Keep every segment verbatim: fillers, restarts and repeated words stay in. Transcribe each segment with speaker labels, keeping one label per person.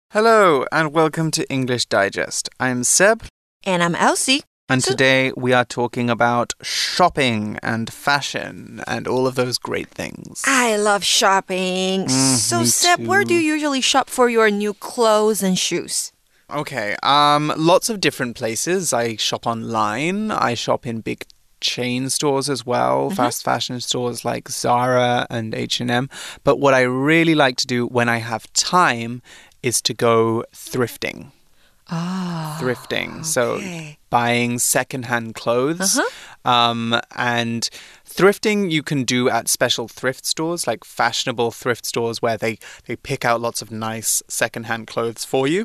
Speaker 1: Hello and welcome to English Digest. I'm Seb.
Speaker 2: And I'm Elsie.
Speaker 1: And
Speaker 2: so
Speaker 1: today we are talking about shopping and fashion and all of those great things.
Speaker 2: I love shopping.
Speaker 1: Mm,
Speaker 2: so
Speaker 1: me
Speaker 2: Seb,
Speaker 1: too.
Speaker 2: where do you usually shop for your new clothes and shoes?
Speaker 1: Okay, um, lots of different places. I shop online. I shop in big chain stores as well, mm-hmm. fast fashion stores like Zara and H and M. But what I really like to do when I have time is to go thrifting.
Speaker 2: Ah, oh,
Speaker 1: thrifting.
Speaker 2: Okay.
Speaker 1: So buying secondhand clothes.
Speaker 2: Uh-huh.
Speaker 1: Um, and thrifting you can do at special thrift stores, like fashionable thrift stores where they, they pick out lots of nice secondhand clothes for you.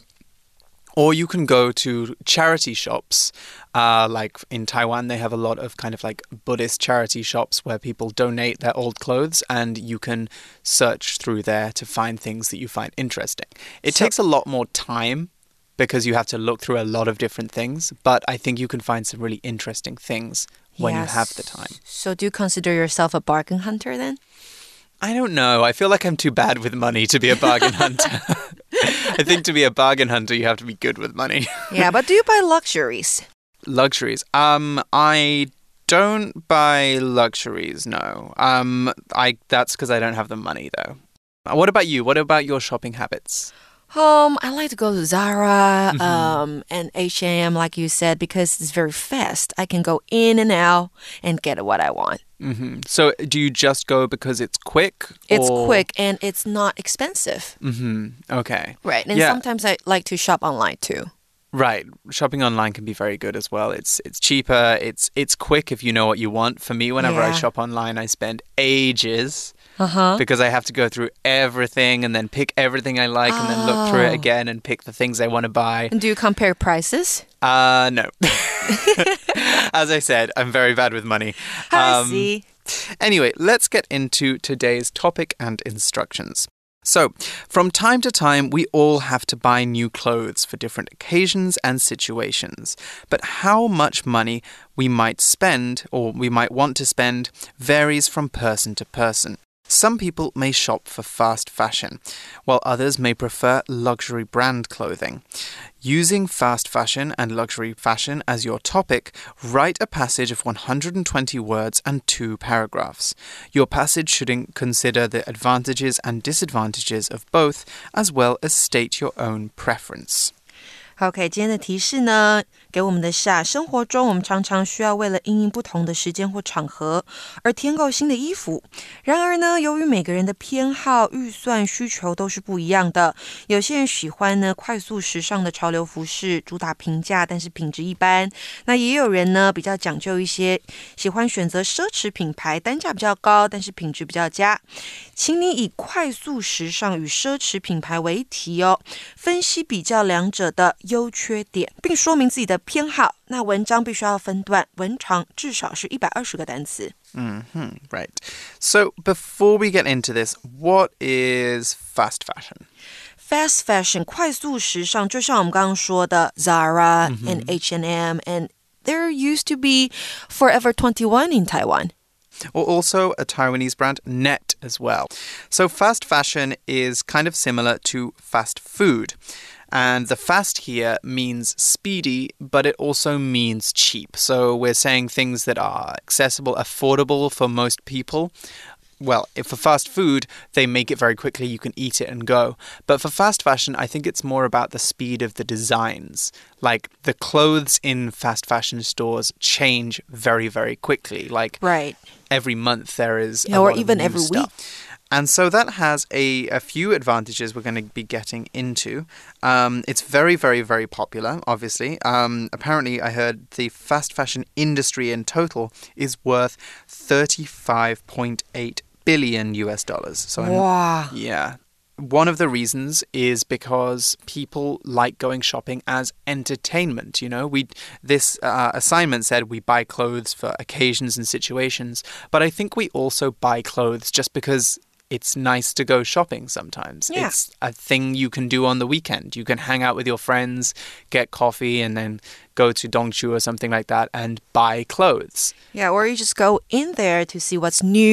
Speaker 1: Or you can go to charity shops, uh, like in Taiwan, they have a lot of kind of like Buddhist charity shops where people donate their old clothes and you can search through there to find things that you find interesting. It so- takes a lot more time because you have to look through a lot of different things, but I think you can find some really interesting things when yes. you have the time.
Speaker 2: So do you consider yourself a bargain hunter then?
Speaker 1: I don't know. I feel like I'm too bad with money to be a bargain hunter. I think to be a bargain hunter, you have to be good with money.
Speaker 2: Yeah, but do you buy luxuries?
Speaker 1: Luxuries? Um, I don't buy luxuries, no. Um, I that's because I don't have the money, though. What about you? What about your shopping habits?
Speaker 2: Um, I like to go to Zara mm-hmm. um, and H and M, like you said, because it's very fast. I can go in and out and get what I want.
Speaker 1: Mm-hmm. So do you just go because it's quick?
Speaker 2: It's
Speaker 1: or...
Speaker 2: quick and it's not expensive.
Speaker 1: Mm-hmm. Okay.
Speaker 2: Right. And
Speaker 1: yeah.
Speaker 2: sometimes I like to shop online too.
Speaker 1: Right. Shopping online can be very good as well. It's it's cheaper. It's it's quick if you know what you want. For me, whenever
Speaker 2: yeah.
Speaker 1: I shop online, I spend ages
Speaker 2: uh-huh.
Speaker 1: because I have to go through everything and then pick everything I like oh. and then look through it again and pick the things I want to buy.
Speaker 2: And do you compare prices?
Speaker 1: Uh, no. As I said, I'm very bad with money.
Speaker 2: I um, see.
Speaker 1: Anyway, let's get into today's topic and instructions. So, from time to time, we all have to buy new clothes for different occasions and situations. But how much money we might spend, or we might want to spend, varies from person to person. Some people may shop for fast fashion, while others may prefer luxury brand clothing. Using fast fashion and luxury fashion as your topic, write a passage of one hundred twenty words and two paragraphs. Your passage should consider the advantages and disadvantages of both, as well as state your own preference.
Speaker 2: OK, 今天的提示呢，給我們的下生活中，我們常常需要為了因應不同的時間或場合而添購新的衣服。然而呢，由於每個人的偏好、預算、需求都是不一樣的，有些人喜歡呢快速時尚的潮流服飾，主打平價，但是品質一般。那也有人呢比較講究一些，喜歡選擇奢侈品牌，單價比較高，但是品質比較佳。請你以快速時尚與奢侈品牌為題哦，分析比較兩者的優缺點，並說明自己的偏好。那文章必須要分段，文長至少是一百二十個單詞。
Speaker 1: Mm-hmm, right. So before we get into this, what is fast fashion?
Speaker 2: Fast fashion, 快速時尚，就像我們剛剛說的 Zara mm-hmm. and H and M, and there used to be Forever twenty-one in Taiwan.
Speaker 1: Or also a Taiwanese brand, Net, as well. So fast fashion is kind of similar to fast food. And the fast here means speedy, but it also means cheap. So we're saying things that are accessible, affordable for most people. Well, if for fast food, they make it very quickly, you can eat it and go. But for fast fashion, I think it's more about the speed of the designs. Like, the clothes in fast fashion stores change very, very quickly. Like,
Speaker 2: right.
Speaker 1: every month there is
Speaker 2: yeah,
Speaker 1: a
Speaker 2: or
Speaker 1: lot
Speaker 2: even
Speaker 1: of new
Speaker 2: every
Speaker 1: stuff.
Speaker 2: week.
Speaker 1: And so that has a, a few advantages we're going to be getting into. Um, it's very, very, very popular, obviously. Um, apparently, I heard the fast fashion industry in total is worth thirty-five point eight billion U S dollars. So
Speaker 2: wow.
Speaker 1: I'm, yeah. One of the reasons is because people like going shopping as entertainment. You know, we this uh, assignment said we buy clothes for occasions and situations, but I think we also buy clothes just because it's nice to go shopping sometimes.
Speaker 2: Yeah.
Speaker 1: It's a thing you can do on the weekend. You can hang out with your friends, get coffee, and then go to Dongchu or something like that and buy clothes.
Speaker 2: Yeah, or you just go in there to see what's new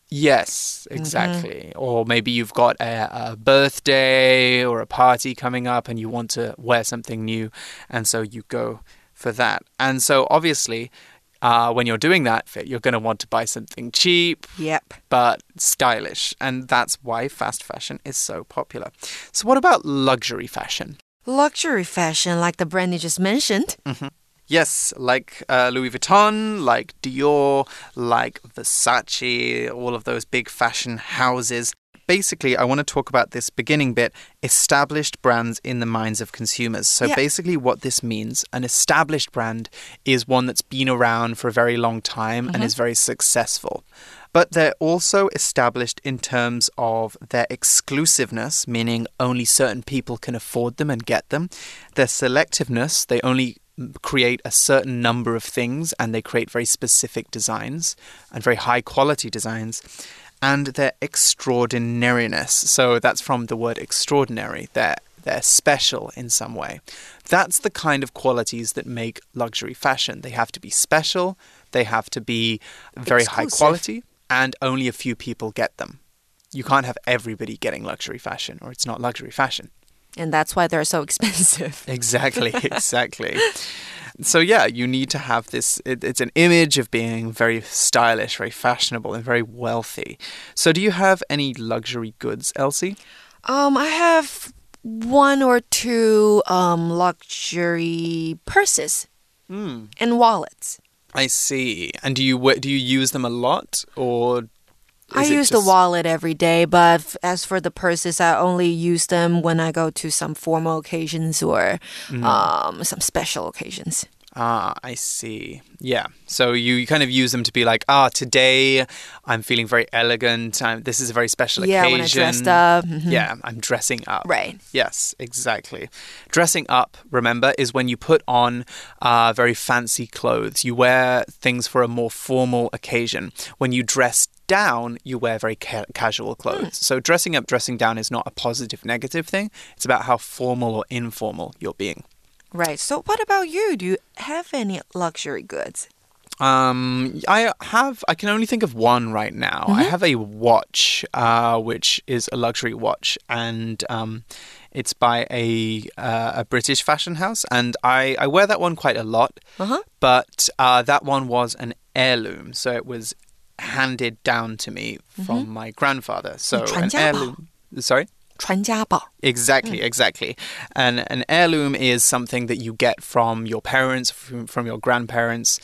Speaker 1: Yes, exactly. Mm-hmm. Or maybe you've got a, a birthday or a party coming up and you want to wear something new, and so you go for that. And so obviously, uh, when you're doing that, you're going to want to buy something cheap,
Speaker 2: yep,
Speaker 1: but stylish. And that's why fast fashion is so popular. So what about luxury fashion?
Speaker 2: Luxury fashion, like the brand you just mentioned.
Speaker 1: Mm-hmm. Yes, like uh, Louis Vuitton, like Dior, like Versace, all of those big fashion houses. Basically, I want to talk about this beginning bit, established brands in the minds of consumers. So yeah. basically what this means, an established brand is one that's been around for a very long time mm-hmm. and is very successful. But they're also established in terms of their exclusiveness, meaning only certain people can afford them and get them. Their selectiveness, they only create a certain number of things and they create very specific designs and very high quality designs. And their extraordinariness. So that's from the word extraordinary. They're, they're special in some way. That's the kind of qualities that make luxury fashion. They have to be special. They have to be very Exclusive. high quality. And only a few people get them. You can't have everybody getting luxury fashion or it's not luxury fashion.
Speaker 2: And that's why they're so expensive.
Speaker 1: Exactly, exactly. So yeah, you need to have this, it, it's an image of being very stylish, very fashionable, and very wealthy. So do you have any luxury goods, Elsie?
Speaker 2: Um, I have one or two um, luxury purses mm. and wallets.
Speaker 1: I see. And do you do you use them a lot, or
Speaker 2: I use just... the wallet every day, but as for the purses, I only use them when I go to some formal occasions or mm. um, some special occasions.
Speaker 1: Ah, I see. Yeah. So you, you kind of use them to be like, ah, today I'm feeling very elegant. I'm, this is a very special
Speaker 2: yeah,
Speaker 1: occasion.
Speaker 2: Yeah, when I dressed up. Mm-hmm.
Speaker 1: Yeah, I'm dressing up.
Speaker 2: Right.
Speaker 1: Yes, exactly. Dressing up, remember, is when you put on uh, very fancy clothes. You wear things for a more formal occasion. When you dress down, you wear very ca casual clothes. Mm. So dressing up, dressing down is not a positive, negative thing. It's about how formal or informal you're being.
Speaker 2: Right. So what about you? Do you have any luxury goods?
Speaker 1: Um, I have, I can only think of one right now. Mm-hmm. I have a watch, uh, which is a luxury watch, and um, it's by a uh, a British fashion house, and I, I wear that one quite a lot, uh-huh. but uh, that one was an heirloom, so it was handed down to me mm-hmm. from my grandfather. So an heirloom. Sorry?
Speaker 2: 传家宝.
Speaker 1: Exactly, exactly. And an heirloom is something that you get from your parents, from, from your grandparents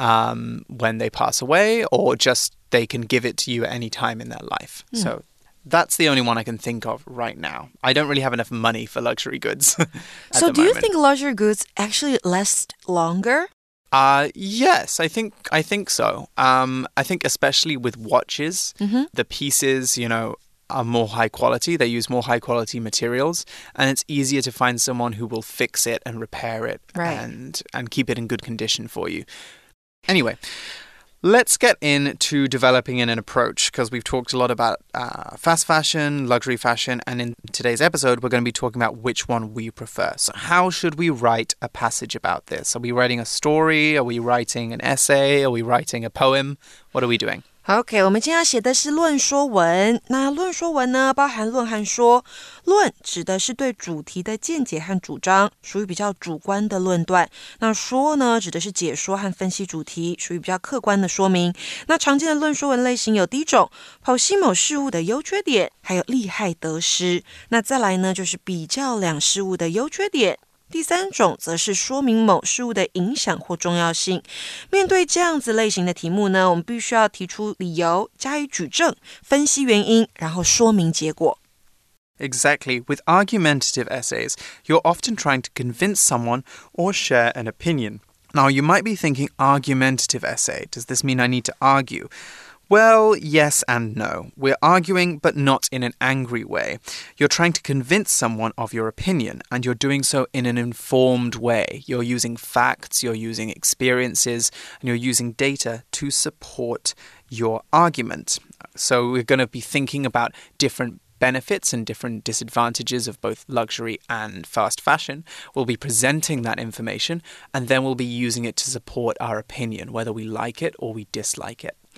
Speaker 1: um, when they pass away, or just they can give it to you at any time in their life. Mm. So that's the only one I can think of right now. I don't really have enough money for luxury goods.
Speaker 2: So do
Speaker 1: moment.
Speaker 2: you think luxury goods actually last longer?
Speaker 1: Uh, yes, I think I think so. Um, I think especially with watches, mm-hmm. the pieces, you know, are more high quality. They use more high quality materials, and it's easier to find someone who will fix it and repair it
Speaker 2: right.
Speaker 1: and and keep it in good condition for you. Anyway, let's get into developing in an approach, because we've talked a lot about uh, fast fashion, luxury fashion, and in today's episode, we're going to be talking about which one we prefer. So how should we write a passage about this? Are we writing a story? Are we writing an essay? Are we writing a poem? What are we doing?
Speaker 2: OK, 我們今天要寫的是論說文。那論說文呢，包含論和說。論指的是對主題的見解和主張，屬於比較主觀的論斷。那說呢，指的是解說和分析主題，屬於比較客觀的說明。那常見的論說文類型有第一種，剖析某事物的優缺點，還有利害得失。那再來呢，就是比較兩事物的優缺點。第三種則是說明某事物的影響或重要性。面對這樣子類型的題目呢，我們必須要提出理由，加以舉證，分析原因，然後說明結果。
Speaker 1: Exactly. With argumentative essays, you're often trying to convince someone or share an opinion. Now, you might be thinking, argumentative essay, does this mean I need to argue? Well, yes and no. We're arguing, but not in an angry way. You're trying to convince someone of your opinion, and you're doing so in an informed way. You're using facts, you're using experiences, and you're using data to support your argument. So we're going to be thinking about different benefits and different disadvantages of both luxury and fast fashion. We'll be presenting that information, and then we'll be using it to support our opinion, whether we like it or we dislike it.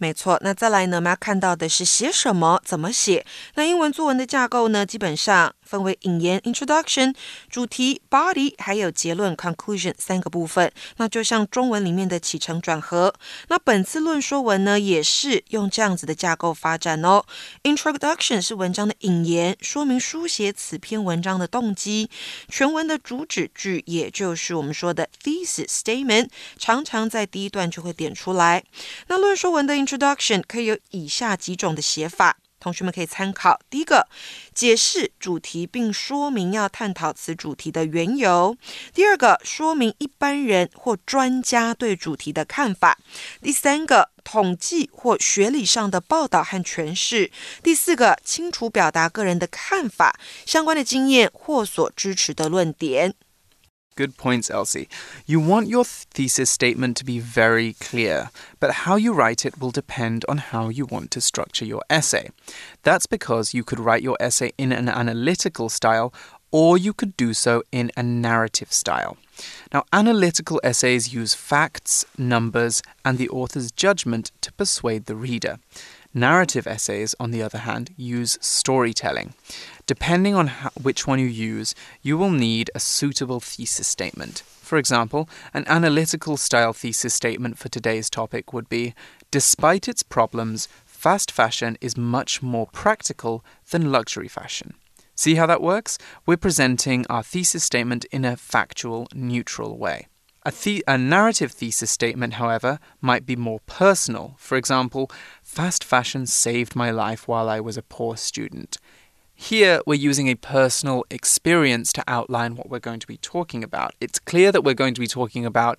Speaker 2: 沒錯，那再來呢，我們要看到的是寫什麼，怎麼寫。那英文作文的架構呢，基本上分為引言 introduction、主題 body， 還有結論 conclusion 三個部分。那就像中文裡面的起承轉合。那本次論說文呢，也是用這樣子的架構發展哦。Introduction 是文章的引言，說明書寫此篇文章的動機。全文的主旨句，也就是我們說的 thesis statement， 常常在第一段就會點出來。那論說文的 introduction 可以有以下幾種的寫法，同學們可以參考。第一個，解釋主題並說明要探討此主題的緣由。第二個，說明一般人或專家對主題的看法。第三個，統計或學理上的報道和詮釋。第四個，清楚表達個人的看法、相關的經驗或所支持的論點。
Speaker 1: Good points, Elsie. You want your thesis statement to be very clear, but how you write it will depend on how you want to structure your essay. That's because you could write your essay in an analytical style, or you could do so in a narrative style. Now, analytical essays use facts, numbers, and the author's judgment to persuade the reader. Narrative essays, on the other hand, use storytelling. Depending on how, which one you use, you will need a suitable thesis statement. For example, an analytical style thesis statement for today's topic would be, despite its problems, fast fashion is much more practical than luxury fashion. See how that works? We're presenting our thesis statement in a factual, neutral way. A, the- a narrative thesis statement, however, might be more personal. For example, fast fashion saved my life while I was a poor student. Here, we're using a personal experience to outline what we're going to be talking about. It's clear that we're going to be talking about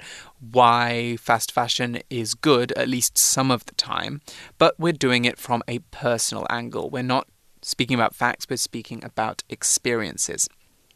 Speaker 1: why fast fashion is good, at least some of the time, but we're doing it from a personal angle. We're not speaking about facts, we're speaking about experiences.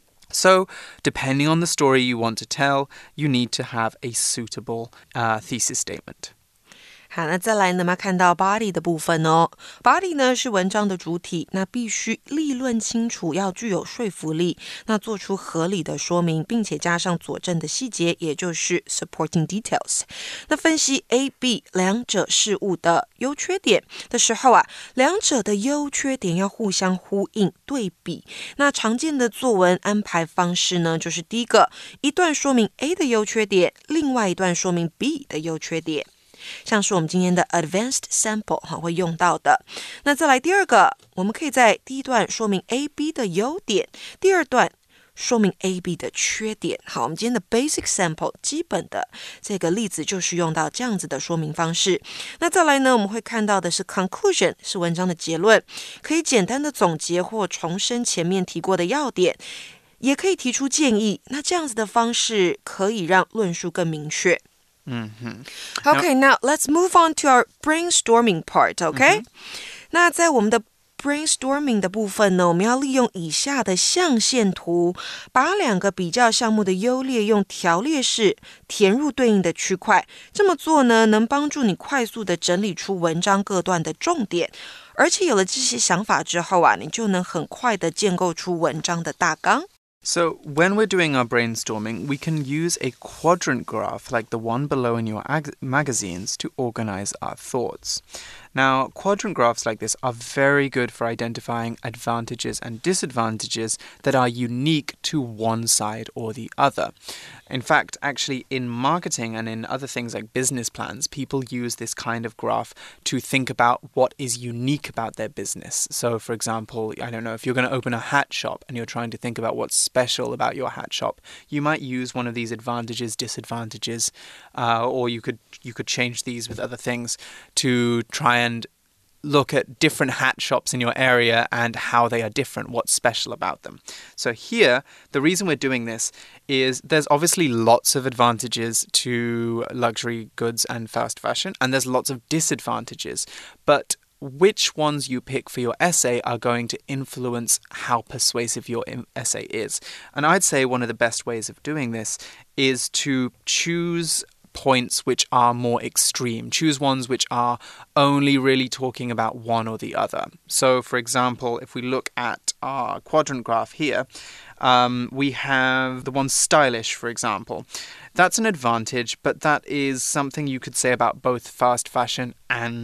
Speaker 1: So, depending on the story you want to tell, you need to have a suitable uh, thesis statement.
Speaker 2: 好，那再來呢，我們要看到 body 的部分哦。body 呢是文章的主體，那必須立論清楚，要具有說服力，那做出合理的說明，並且加上佐證的細節，也就是 supporting details。那分析 A、B 兩者事物的優缺點的時候啊，兩者的優缺點要互相呼應對比。那常見的作文安排方式呢，就是第一個，一段說明 A 的優缺點，另外一段說明 B 的優缺點。像是我們今天的 advanced sample 會用到的。那再來第二個，我們可以在第一段說明 A、B 的優點，第二段說明 A、B 的缺點。好，我們今天的 basic sample 基本的這個例子就是用到這樣子的說明方式。那再來呢，我們會看到的是 conclusion， 是文章的結論，可以簡單的總結或重申前面提過的要點，也可以提出建議。那這樣子的方式可以讓論述更明確。
Speaker 1: Mm-hmm.
Speaker 2: Okay, now let's move on to our brainstorming part, okay? Mm-hmm. 那在我們的 brainstorming 的部分呢，我們要利用以下的象限圖，把兩個比較項目的優劣用條列式填入對應的區塊。這麼做呢，能幫助你快速的整理出文章各段的重點，而且有了這些想法之後啊，你就能很快的建構出文章的大綱。
Speaker 1: So, when we're doing our brainstorming, we can use a quadrant graph like the one below in your ag- magazines to organize our thoughts. Now, quadrant graphs like this are very good for identifying advantages and disadvantages that are unique to one side or the other. In fact, actually, in marketing and in other things like business plans, people use this kind of graph to think about what is unique about their business. So, for example, I don't know, if you're going to open a hat shop and you're trying to think about what's special about your hat shop, you might use one of these advantages, disadvantages, uh, or you could you could change these with other things to try and look at different hat shops in your area and how they are different, what's special about them. So here, the reason we're doing this is there's obviously lots of advantages to luxury goods and fast fashion, and there's lots of disadvantages. But which ones you pick for your essay are going to influence how persuasive your essay is. And I'd say one of the best ways of doing this is to choose points which are more extreme. Choose ones which are only really talking about one or the other. So, for example, if we look at our quadrant graph here, um, we have the one stylish, for example. That's an advantage, but that is something you could say about both fast fashion and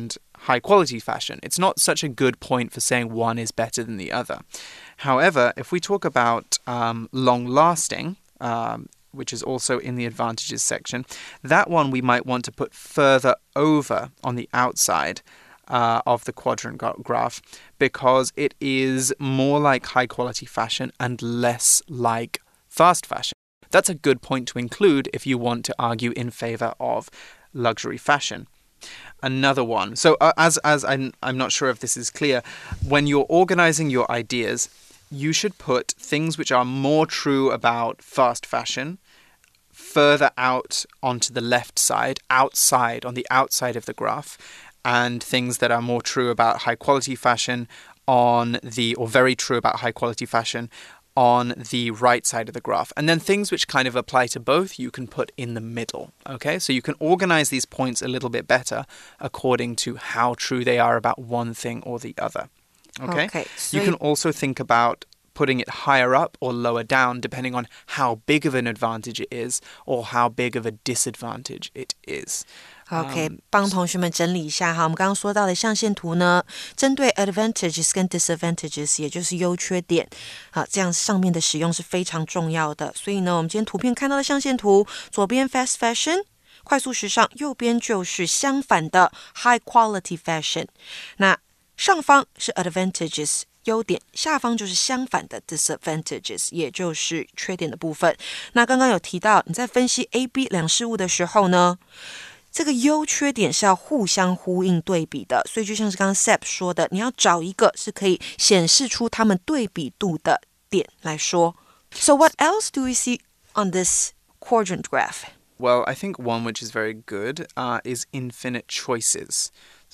Speaker 1: high quality fashion. It's not such a good point for saying one is better than the other. However, if we talk about um, long lasting, um, which is also in the advantages section, that one we might want to put further over on the outside uh, of the quadrant graph because it is more like high quality fashion and less like fast fashion. That's a good point to include if you want to argue in favor of luxury fashion. Another one. So uh, as as I'm, I'm not sure if this is clear, when you're organizing your ideas, you should put things which are more true about fast fashion further out onto the left side, outside, on the outside of the graph, and things that are more true about high quality fashion on the, or very true about high quality fashion on the right side of the graph. And then things which kind of apply to both, you can put in the middle, okay? So you can organize these points a little bit better according to how true they are about one thing or the other, okay?
Speaker 2: Okay, so
Speaker 1: you can also think about putting it higher up or lower down depending on how big of an advantage it is or how big of a disadvantage it is.
Speaker 2: OK， 帮同學們整理一下哈，我們剛剛說到的象限圖呢，針對 advantages 跟 disadvantages， 也就是優缺點，好，這樣上面的使用是非常重要的。所以呢，我們今天圖片看到的象限圖，左邊 fast fashion， 快速時尚，右邊就是相反的 high quality fashion。那上方是 advantages。優點，下方就是相反的 disadvantages， 也就是缺點的部分。那剛剛有提到，你在分析 A、B 兩事物的時候呢，這個優缺點是要互相呼應對比的，所以就像是剛剛 Seb 說的，你要找一個是可以顯示出他們對比度的點來說。So what else do we see on this quadrant graph?
Speaker 1: Well, I think one which is very good uh, is infinite choices.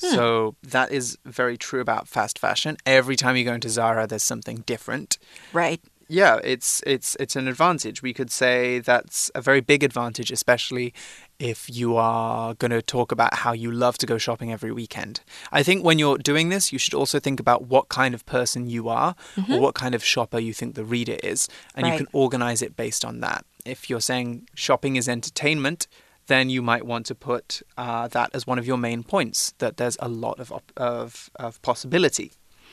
Speaker 1: So that is very true about fast fashion. Every time you go into Zara, there's something different.
Speaker 2: Right.
Speaker 1: Yeah, it's it's it's an advantage. We could say that's a very big advantage, especially if you are going to talk about how you love to go shopping every weekend. I think when you're doing this, you should also think about what kind of person you are mm-hmm. or what kind of shopper you think the reader is. And right. you can organize it based on that. If you're saying shopping is entertainment, then you might want to put uh, that as one of your main points, that there's a lot of, of, of possibility.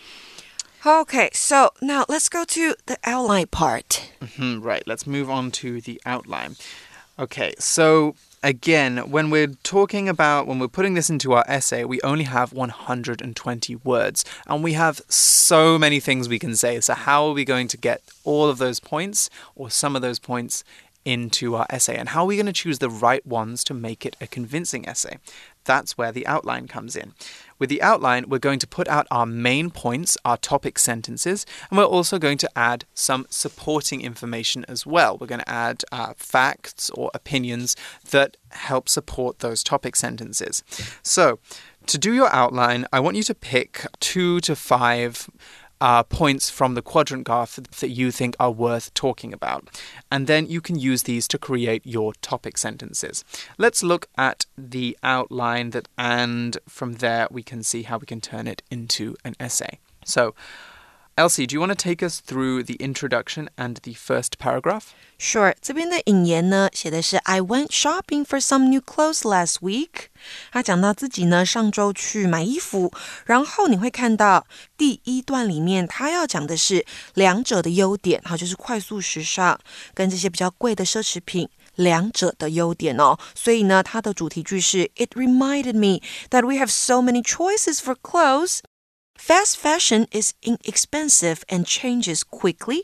Speaker 2: Okay, so now let's go to the outline part.
Speaker 1: Mm-hmm, right, let's move on to the outline. Okay, so again, when we're talking about, when we're putting this into our essay, we only have one hundred twenty words, and we have so many things we can say. So how are we going to get all of those points, or some of those points, into our essay, and how are we going to choose the right ones to make it a convincing essay? That's where the outline comes in. With the outline, we're going to put out our main points, our topic sentences, and we're also going to add some supporting information as well. We're going to add uh, facts or opinions that help support those topic sentences. So, to do your outline, I want you to pick two to five Uh, points from the quadrant graph that you think are worth talking about. And then you can use these to create your topic sentences. Let's look at the outline that, and from there we can see how we can turn it into an essay. So, Elsie, do you want to take us through the introduction and the first paragraph?
Speaker 2: Sure. 这邊的引言呢，寫的是 I went shopping for some new clothes last week. 他講到自己呢，上週去買衣服，然後你會看到第一段裡面，他要講的是兩者的優點，好，就是快速時尚跟這些比較貴的奢侈品兩者的優點哦。所以呢，他的主題句是 It reminded me that we have so many choices for clothes.Fast fashion is inexpensive and changes quickly.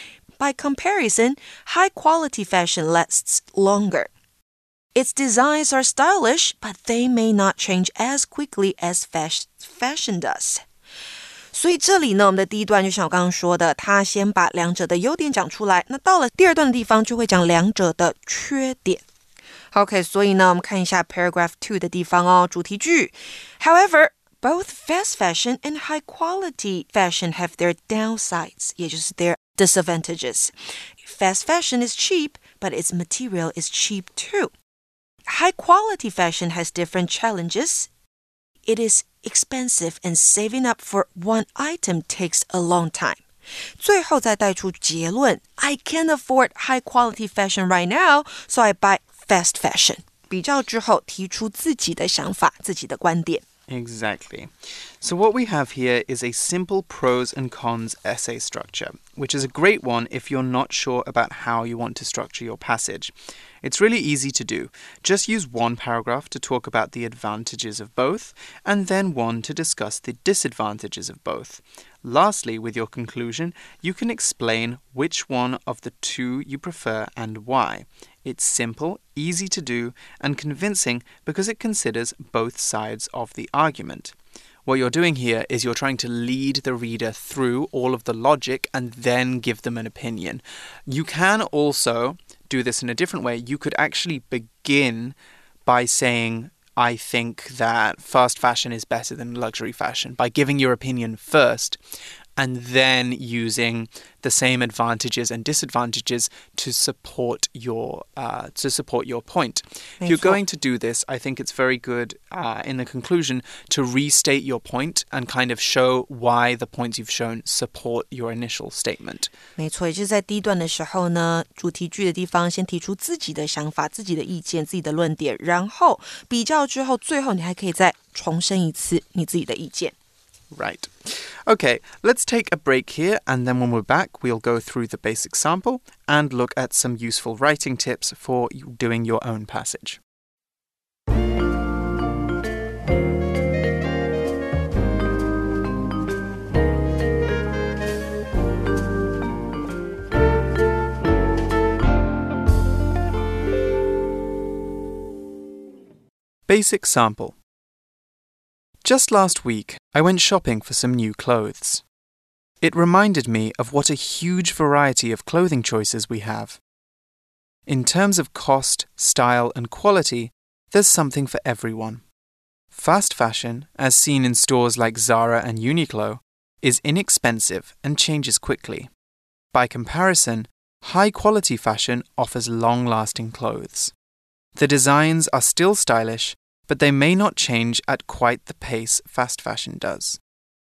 Speaker 2: By comparison, high-quality fashion lasts longer. Its designs are stylish, but they may not change as quickly as fast fashion does. 所以这裡呢，我們的第一段就像我剛剛說的，他先把兩者的優點講出來，那到了第二段的地方就會講兩者的缺點。OK， 所以呢，我們看一下 paragraph two 的地方哦，主題句。However,Both fast fashion and high-quality fashion have their downsides, 也就是 their disadvantages. Fast fashion is cheap, but its material is cheap too. High-quality fashion has different challenges. It is expensive and saving up for one item takes a long time. 最後再帶出結論 I can't afford high-quality fashion right now, so I buy fast fashion. 比較之後提出自己的想法，自己的觀點。
Speaker 1: Exactly. So what we have here is a simple pros and cons essay structure, which is a great one if you're not sure about how you want to structure your passage. It's really easy to do. Just use one paragraph to talk about the advantages of both, and then one to discuss the disadvantages of both. Lastly, with your conclusion, you can explain which one of the two you prefer and why. It's simple, easy to do, and convincing because it considers both sides of the argument. What you're doing here is you're trying to lead the reader through all of the logic and then give them an opinion. You can also do this in a different way. You could actually begin by saying, I think that fast fashion is better than luxury fashion, by giving your opinion first and then using the same advantages and disadvantages to support your uh, to support your point. If you're going to do this, I think it's very good uh, in the conclusion to restate your point and kind of show why the points you've shown support your initial statement.
Speaker 2: 没错，也就是在第一段的时候呢，主题句的地方先提出自己的想法、自己的意见、自己的论点，然后比较之后，最后你还可以再重申一次你自己的意见。
Speaker 1: Right. Okay, let's take a break here, and then when we're back, we'll go through the basic sample and look at some useful writing tips for doing your own passage. Basic sample. Just last week, I went shopping for some new clothes. It reminded me of what a huge variety of clothing choices we have. In terms of cost, style, and quality, there's something for everyone. Fast fashion, as seen in stores like Zara and Uniqlo, is inexpensive and changes quickly. By comparison, high-quality fashion offers long-lasting clothes. The designs are still stylish, but they may not change at quite the pace fast fashion does.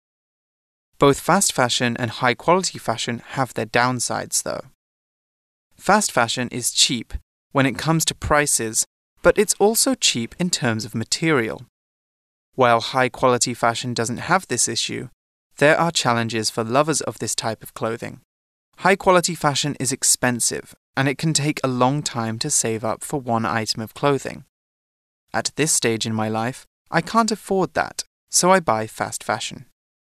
Speaker 1: Both fast fashion and high-quality fashion have their downsides, though. Fast fashion is cheap when it comes to prices, but it's also cheap in terms of material. While high-quality fashion doesn't have this issue, there are challenges for lovers of this type of clothing. High-quality fashion is expensive, and it can take a long time to save up for one item of clothing. At this stage in my life, I can't afford that, so I buy fast fashion.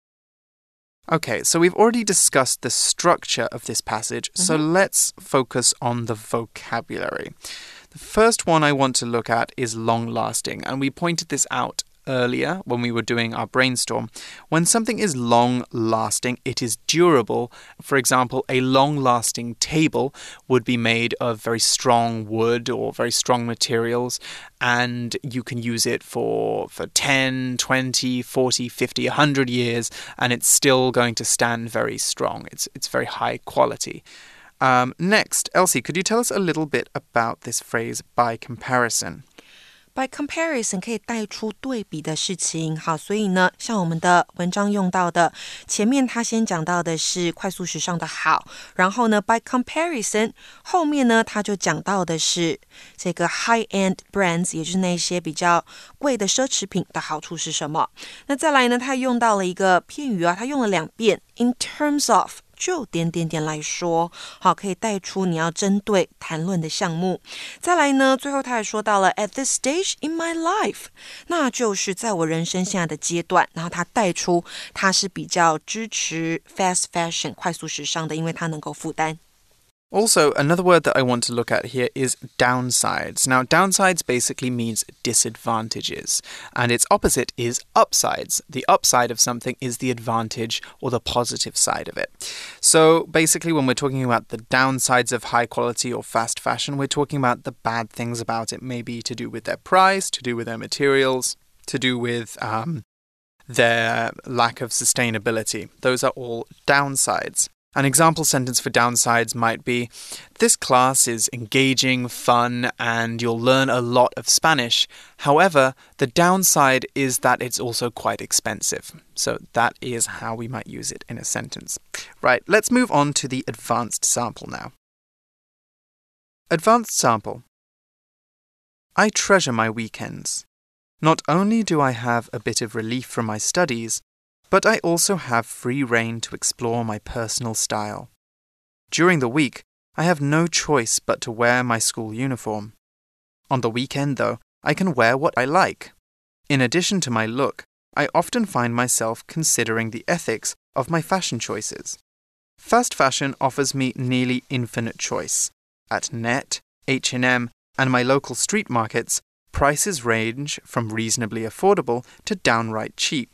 Speaker 1: Okay, so we've already discussed the structure of this passage, mm-hmm. so let's focus on the vocabulary. The first one I want to look at is long-lasting, and we pointed this out earlier when we were doing our brainstorm. When something is long-lasting, it is durable. For example, a long-lasting table would be made of very strong wood or very strong materials, and you can use it for, for ten, twenty, forty, fifty, one hundred years, and it's still going to stand very strong. It's, it's very high quality. Um, next, Elsie, could you tell us a little bit about this phrase, by comparison?
Speaker 2: By comparison 可以带出对比的事情。好，所以呢，像我們的文章用到的，前面他先講到的是快速時尚的好，然後呢 by comparison 後面呢他就講到的是這個 high-end brands， 也就是那些比較貴的奢侈品的好處是什麼。那再來呢，他用到了一個片語啊，他用了兩遍 in terms of。就點點點來說，好，可以帶出你要針對談論的項目。再來呢，最後他還說到了 at this stage in my life， 那就是在我人生現在的階段，然後他帶出他是比較支持 fast fashion 快速時尚的，因為他能夠負擔。
Speaker 1: Also, another word that I want to look at here is downsides. Now, downsides basically means disadvantages, and its opposite is upsides. The upside of something is the advantage or the positive side of it. So, basically, when we're talking about the downsides of high quality or fast fashion, we're talking about the bad things about it, maybe to do with their price, to do with their materials, to do with um, their lack of sustainability. Those are all downsides. An example sentence for downsides might be, this class is engaging, fun, and you'll learn a lot of Spanish. However, the downside is that it's also quite expensive. So that is how we might use it in a sentence. Right, let's move on to the advanced sample now. Advanced sample. I treasure my weekends. Not only do I have a bit of relief from my studies, but I also have free rein to explore my personal style. During the week, I have no choice but to wear my school uniform. On the weekend, though, I can wear what I like. In addition to my look, I often find myself considering the ethics of my fashion choices. Fast fashion offers me nearly infinite choice. At Net, H and M, and my local street markets, prices range from reasonably affordable to downright cheap.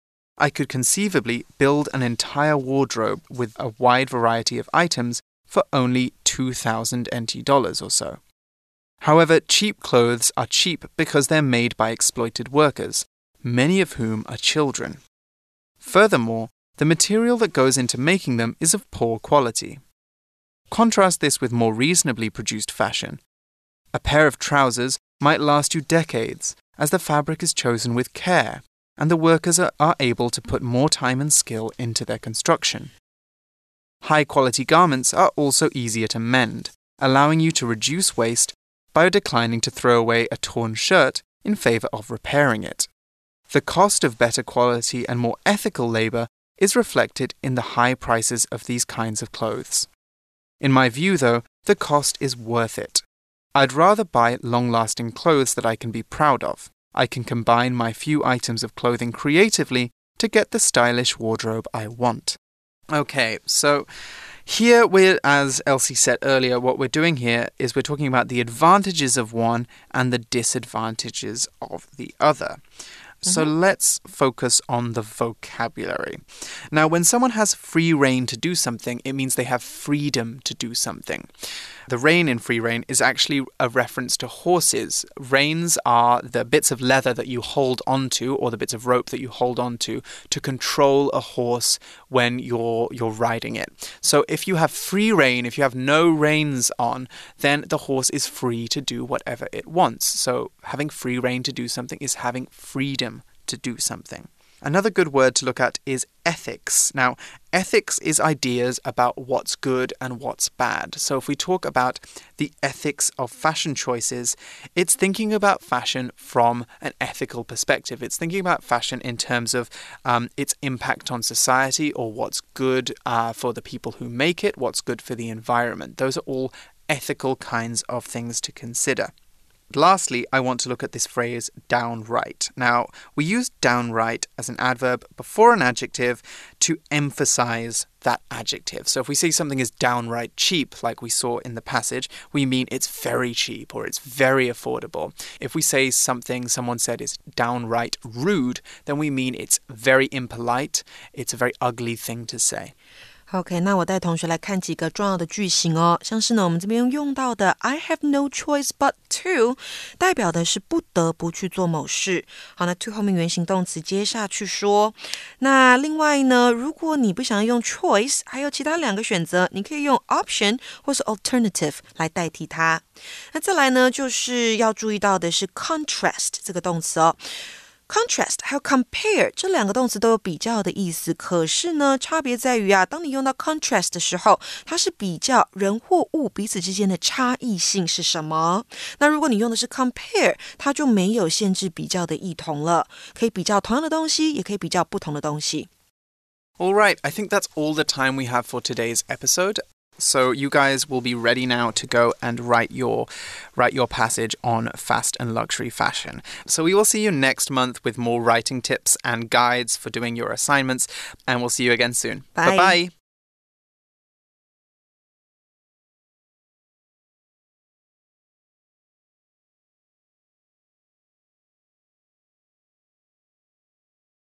Speaker 1: I could conceivably build an entire wardrobe with a wide variety of items for only two thousand N T dollars or so. However, cheap clothes are cheap because they're made by exploited workers, many of whom are children. Furthermore, the material that goes into making them is of poor quality. Contrast this with more reasonably produced fashion. A pair of trousers might last you decades, as the fabric is chosen with care, and the workers are, are able to put more time and skill into their construction. High-quality garments are also easier to mend, allowing you to reduce waste by declining to throw away a torn shirt in favor of repairing it. The cost of better quality and more ethical labor is reflected in the high prices of these kinds of clothes. In my view, though, the cost is worth it. I'd rather buy long-lasting clothes that I can be proud of. I can combine my few items of clothing creatively to get the stylish wardrobe I want. Okay, so here we're, as Elsie said earlier, what we're doing here is we're talking about the advantages of one and the disadvantages of the other. So mm-hmm. let's focus on the vocabulary. Now, when someone has free rein to do something, it means they have freedom to do something. The rein in free rein is actually a reference to horses. Reins are the bits of leather that you hold onto, or the bits of rope that you hold onto, to control a horse when you're you're riding it. So if you have free rein, if you have no reins on, then the horse is free to do whatever it wants. So having free rein to do something is having freedom to do something. Another good word to look at is ethics. Now, ethics is ideas about what's good and what's bad. So if we talk about the ethics of fashion choices, it's thinking about fashion from an ethical perspective. It's thinking about fashion in terms of um, its impact on society, or what's good uh, for the people who make it, what's good for the environment. Those are all ethical kinds of things to consider. Lastly, I want to look at this phrase, downright. Now, we use downright as an adverb before an adjective to emphasize that adjective. So if we say something is downright cheap, like we saw in the passage, we mean it's very cheap or it's very affordable. If we say something someone said is downright rude, then we mean it's very impolite, it's a very ugly thing to say.
Speaker 2: OK, 那我带同學來看幾個重要的句型哦，像是呢我們這邊用到的 I have no choice but to 代表的是不得不去做某事。好，那 to 後面原形動詞接下去說。那另外呢，如果你不想用 choice， 還有其他兩個選擇，你可以用 option 或是 alternative 來代替它。那再來呢，就是要注意到的是 contrast 這個動詞哦。Contrast 還有 compare 這兩個動詞都有比較的意思，可是呢，差別在於啊，當你用到 contrast 的時候，它是比較人或物彼此之間的差異性是什麼。那如果你用的是 compare， 它就沒有限制比較的異同了，可以比較同樣的東西，也可以比較不同的東西。
Speaker 1: All right, I think that's all the time we have for today's episode. So you guys will be ready now to go and write your write your passage on fast and luxury fashion. So we will see you next month with more writing tips and guides for doing your assignments, and we'll see you again soon.
Speaker 2: Bye.
Speaker 1: Bye-bye.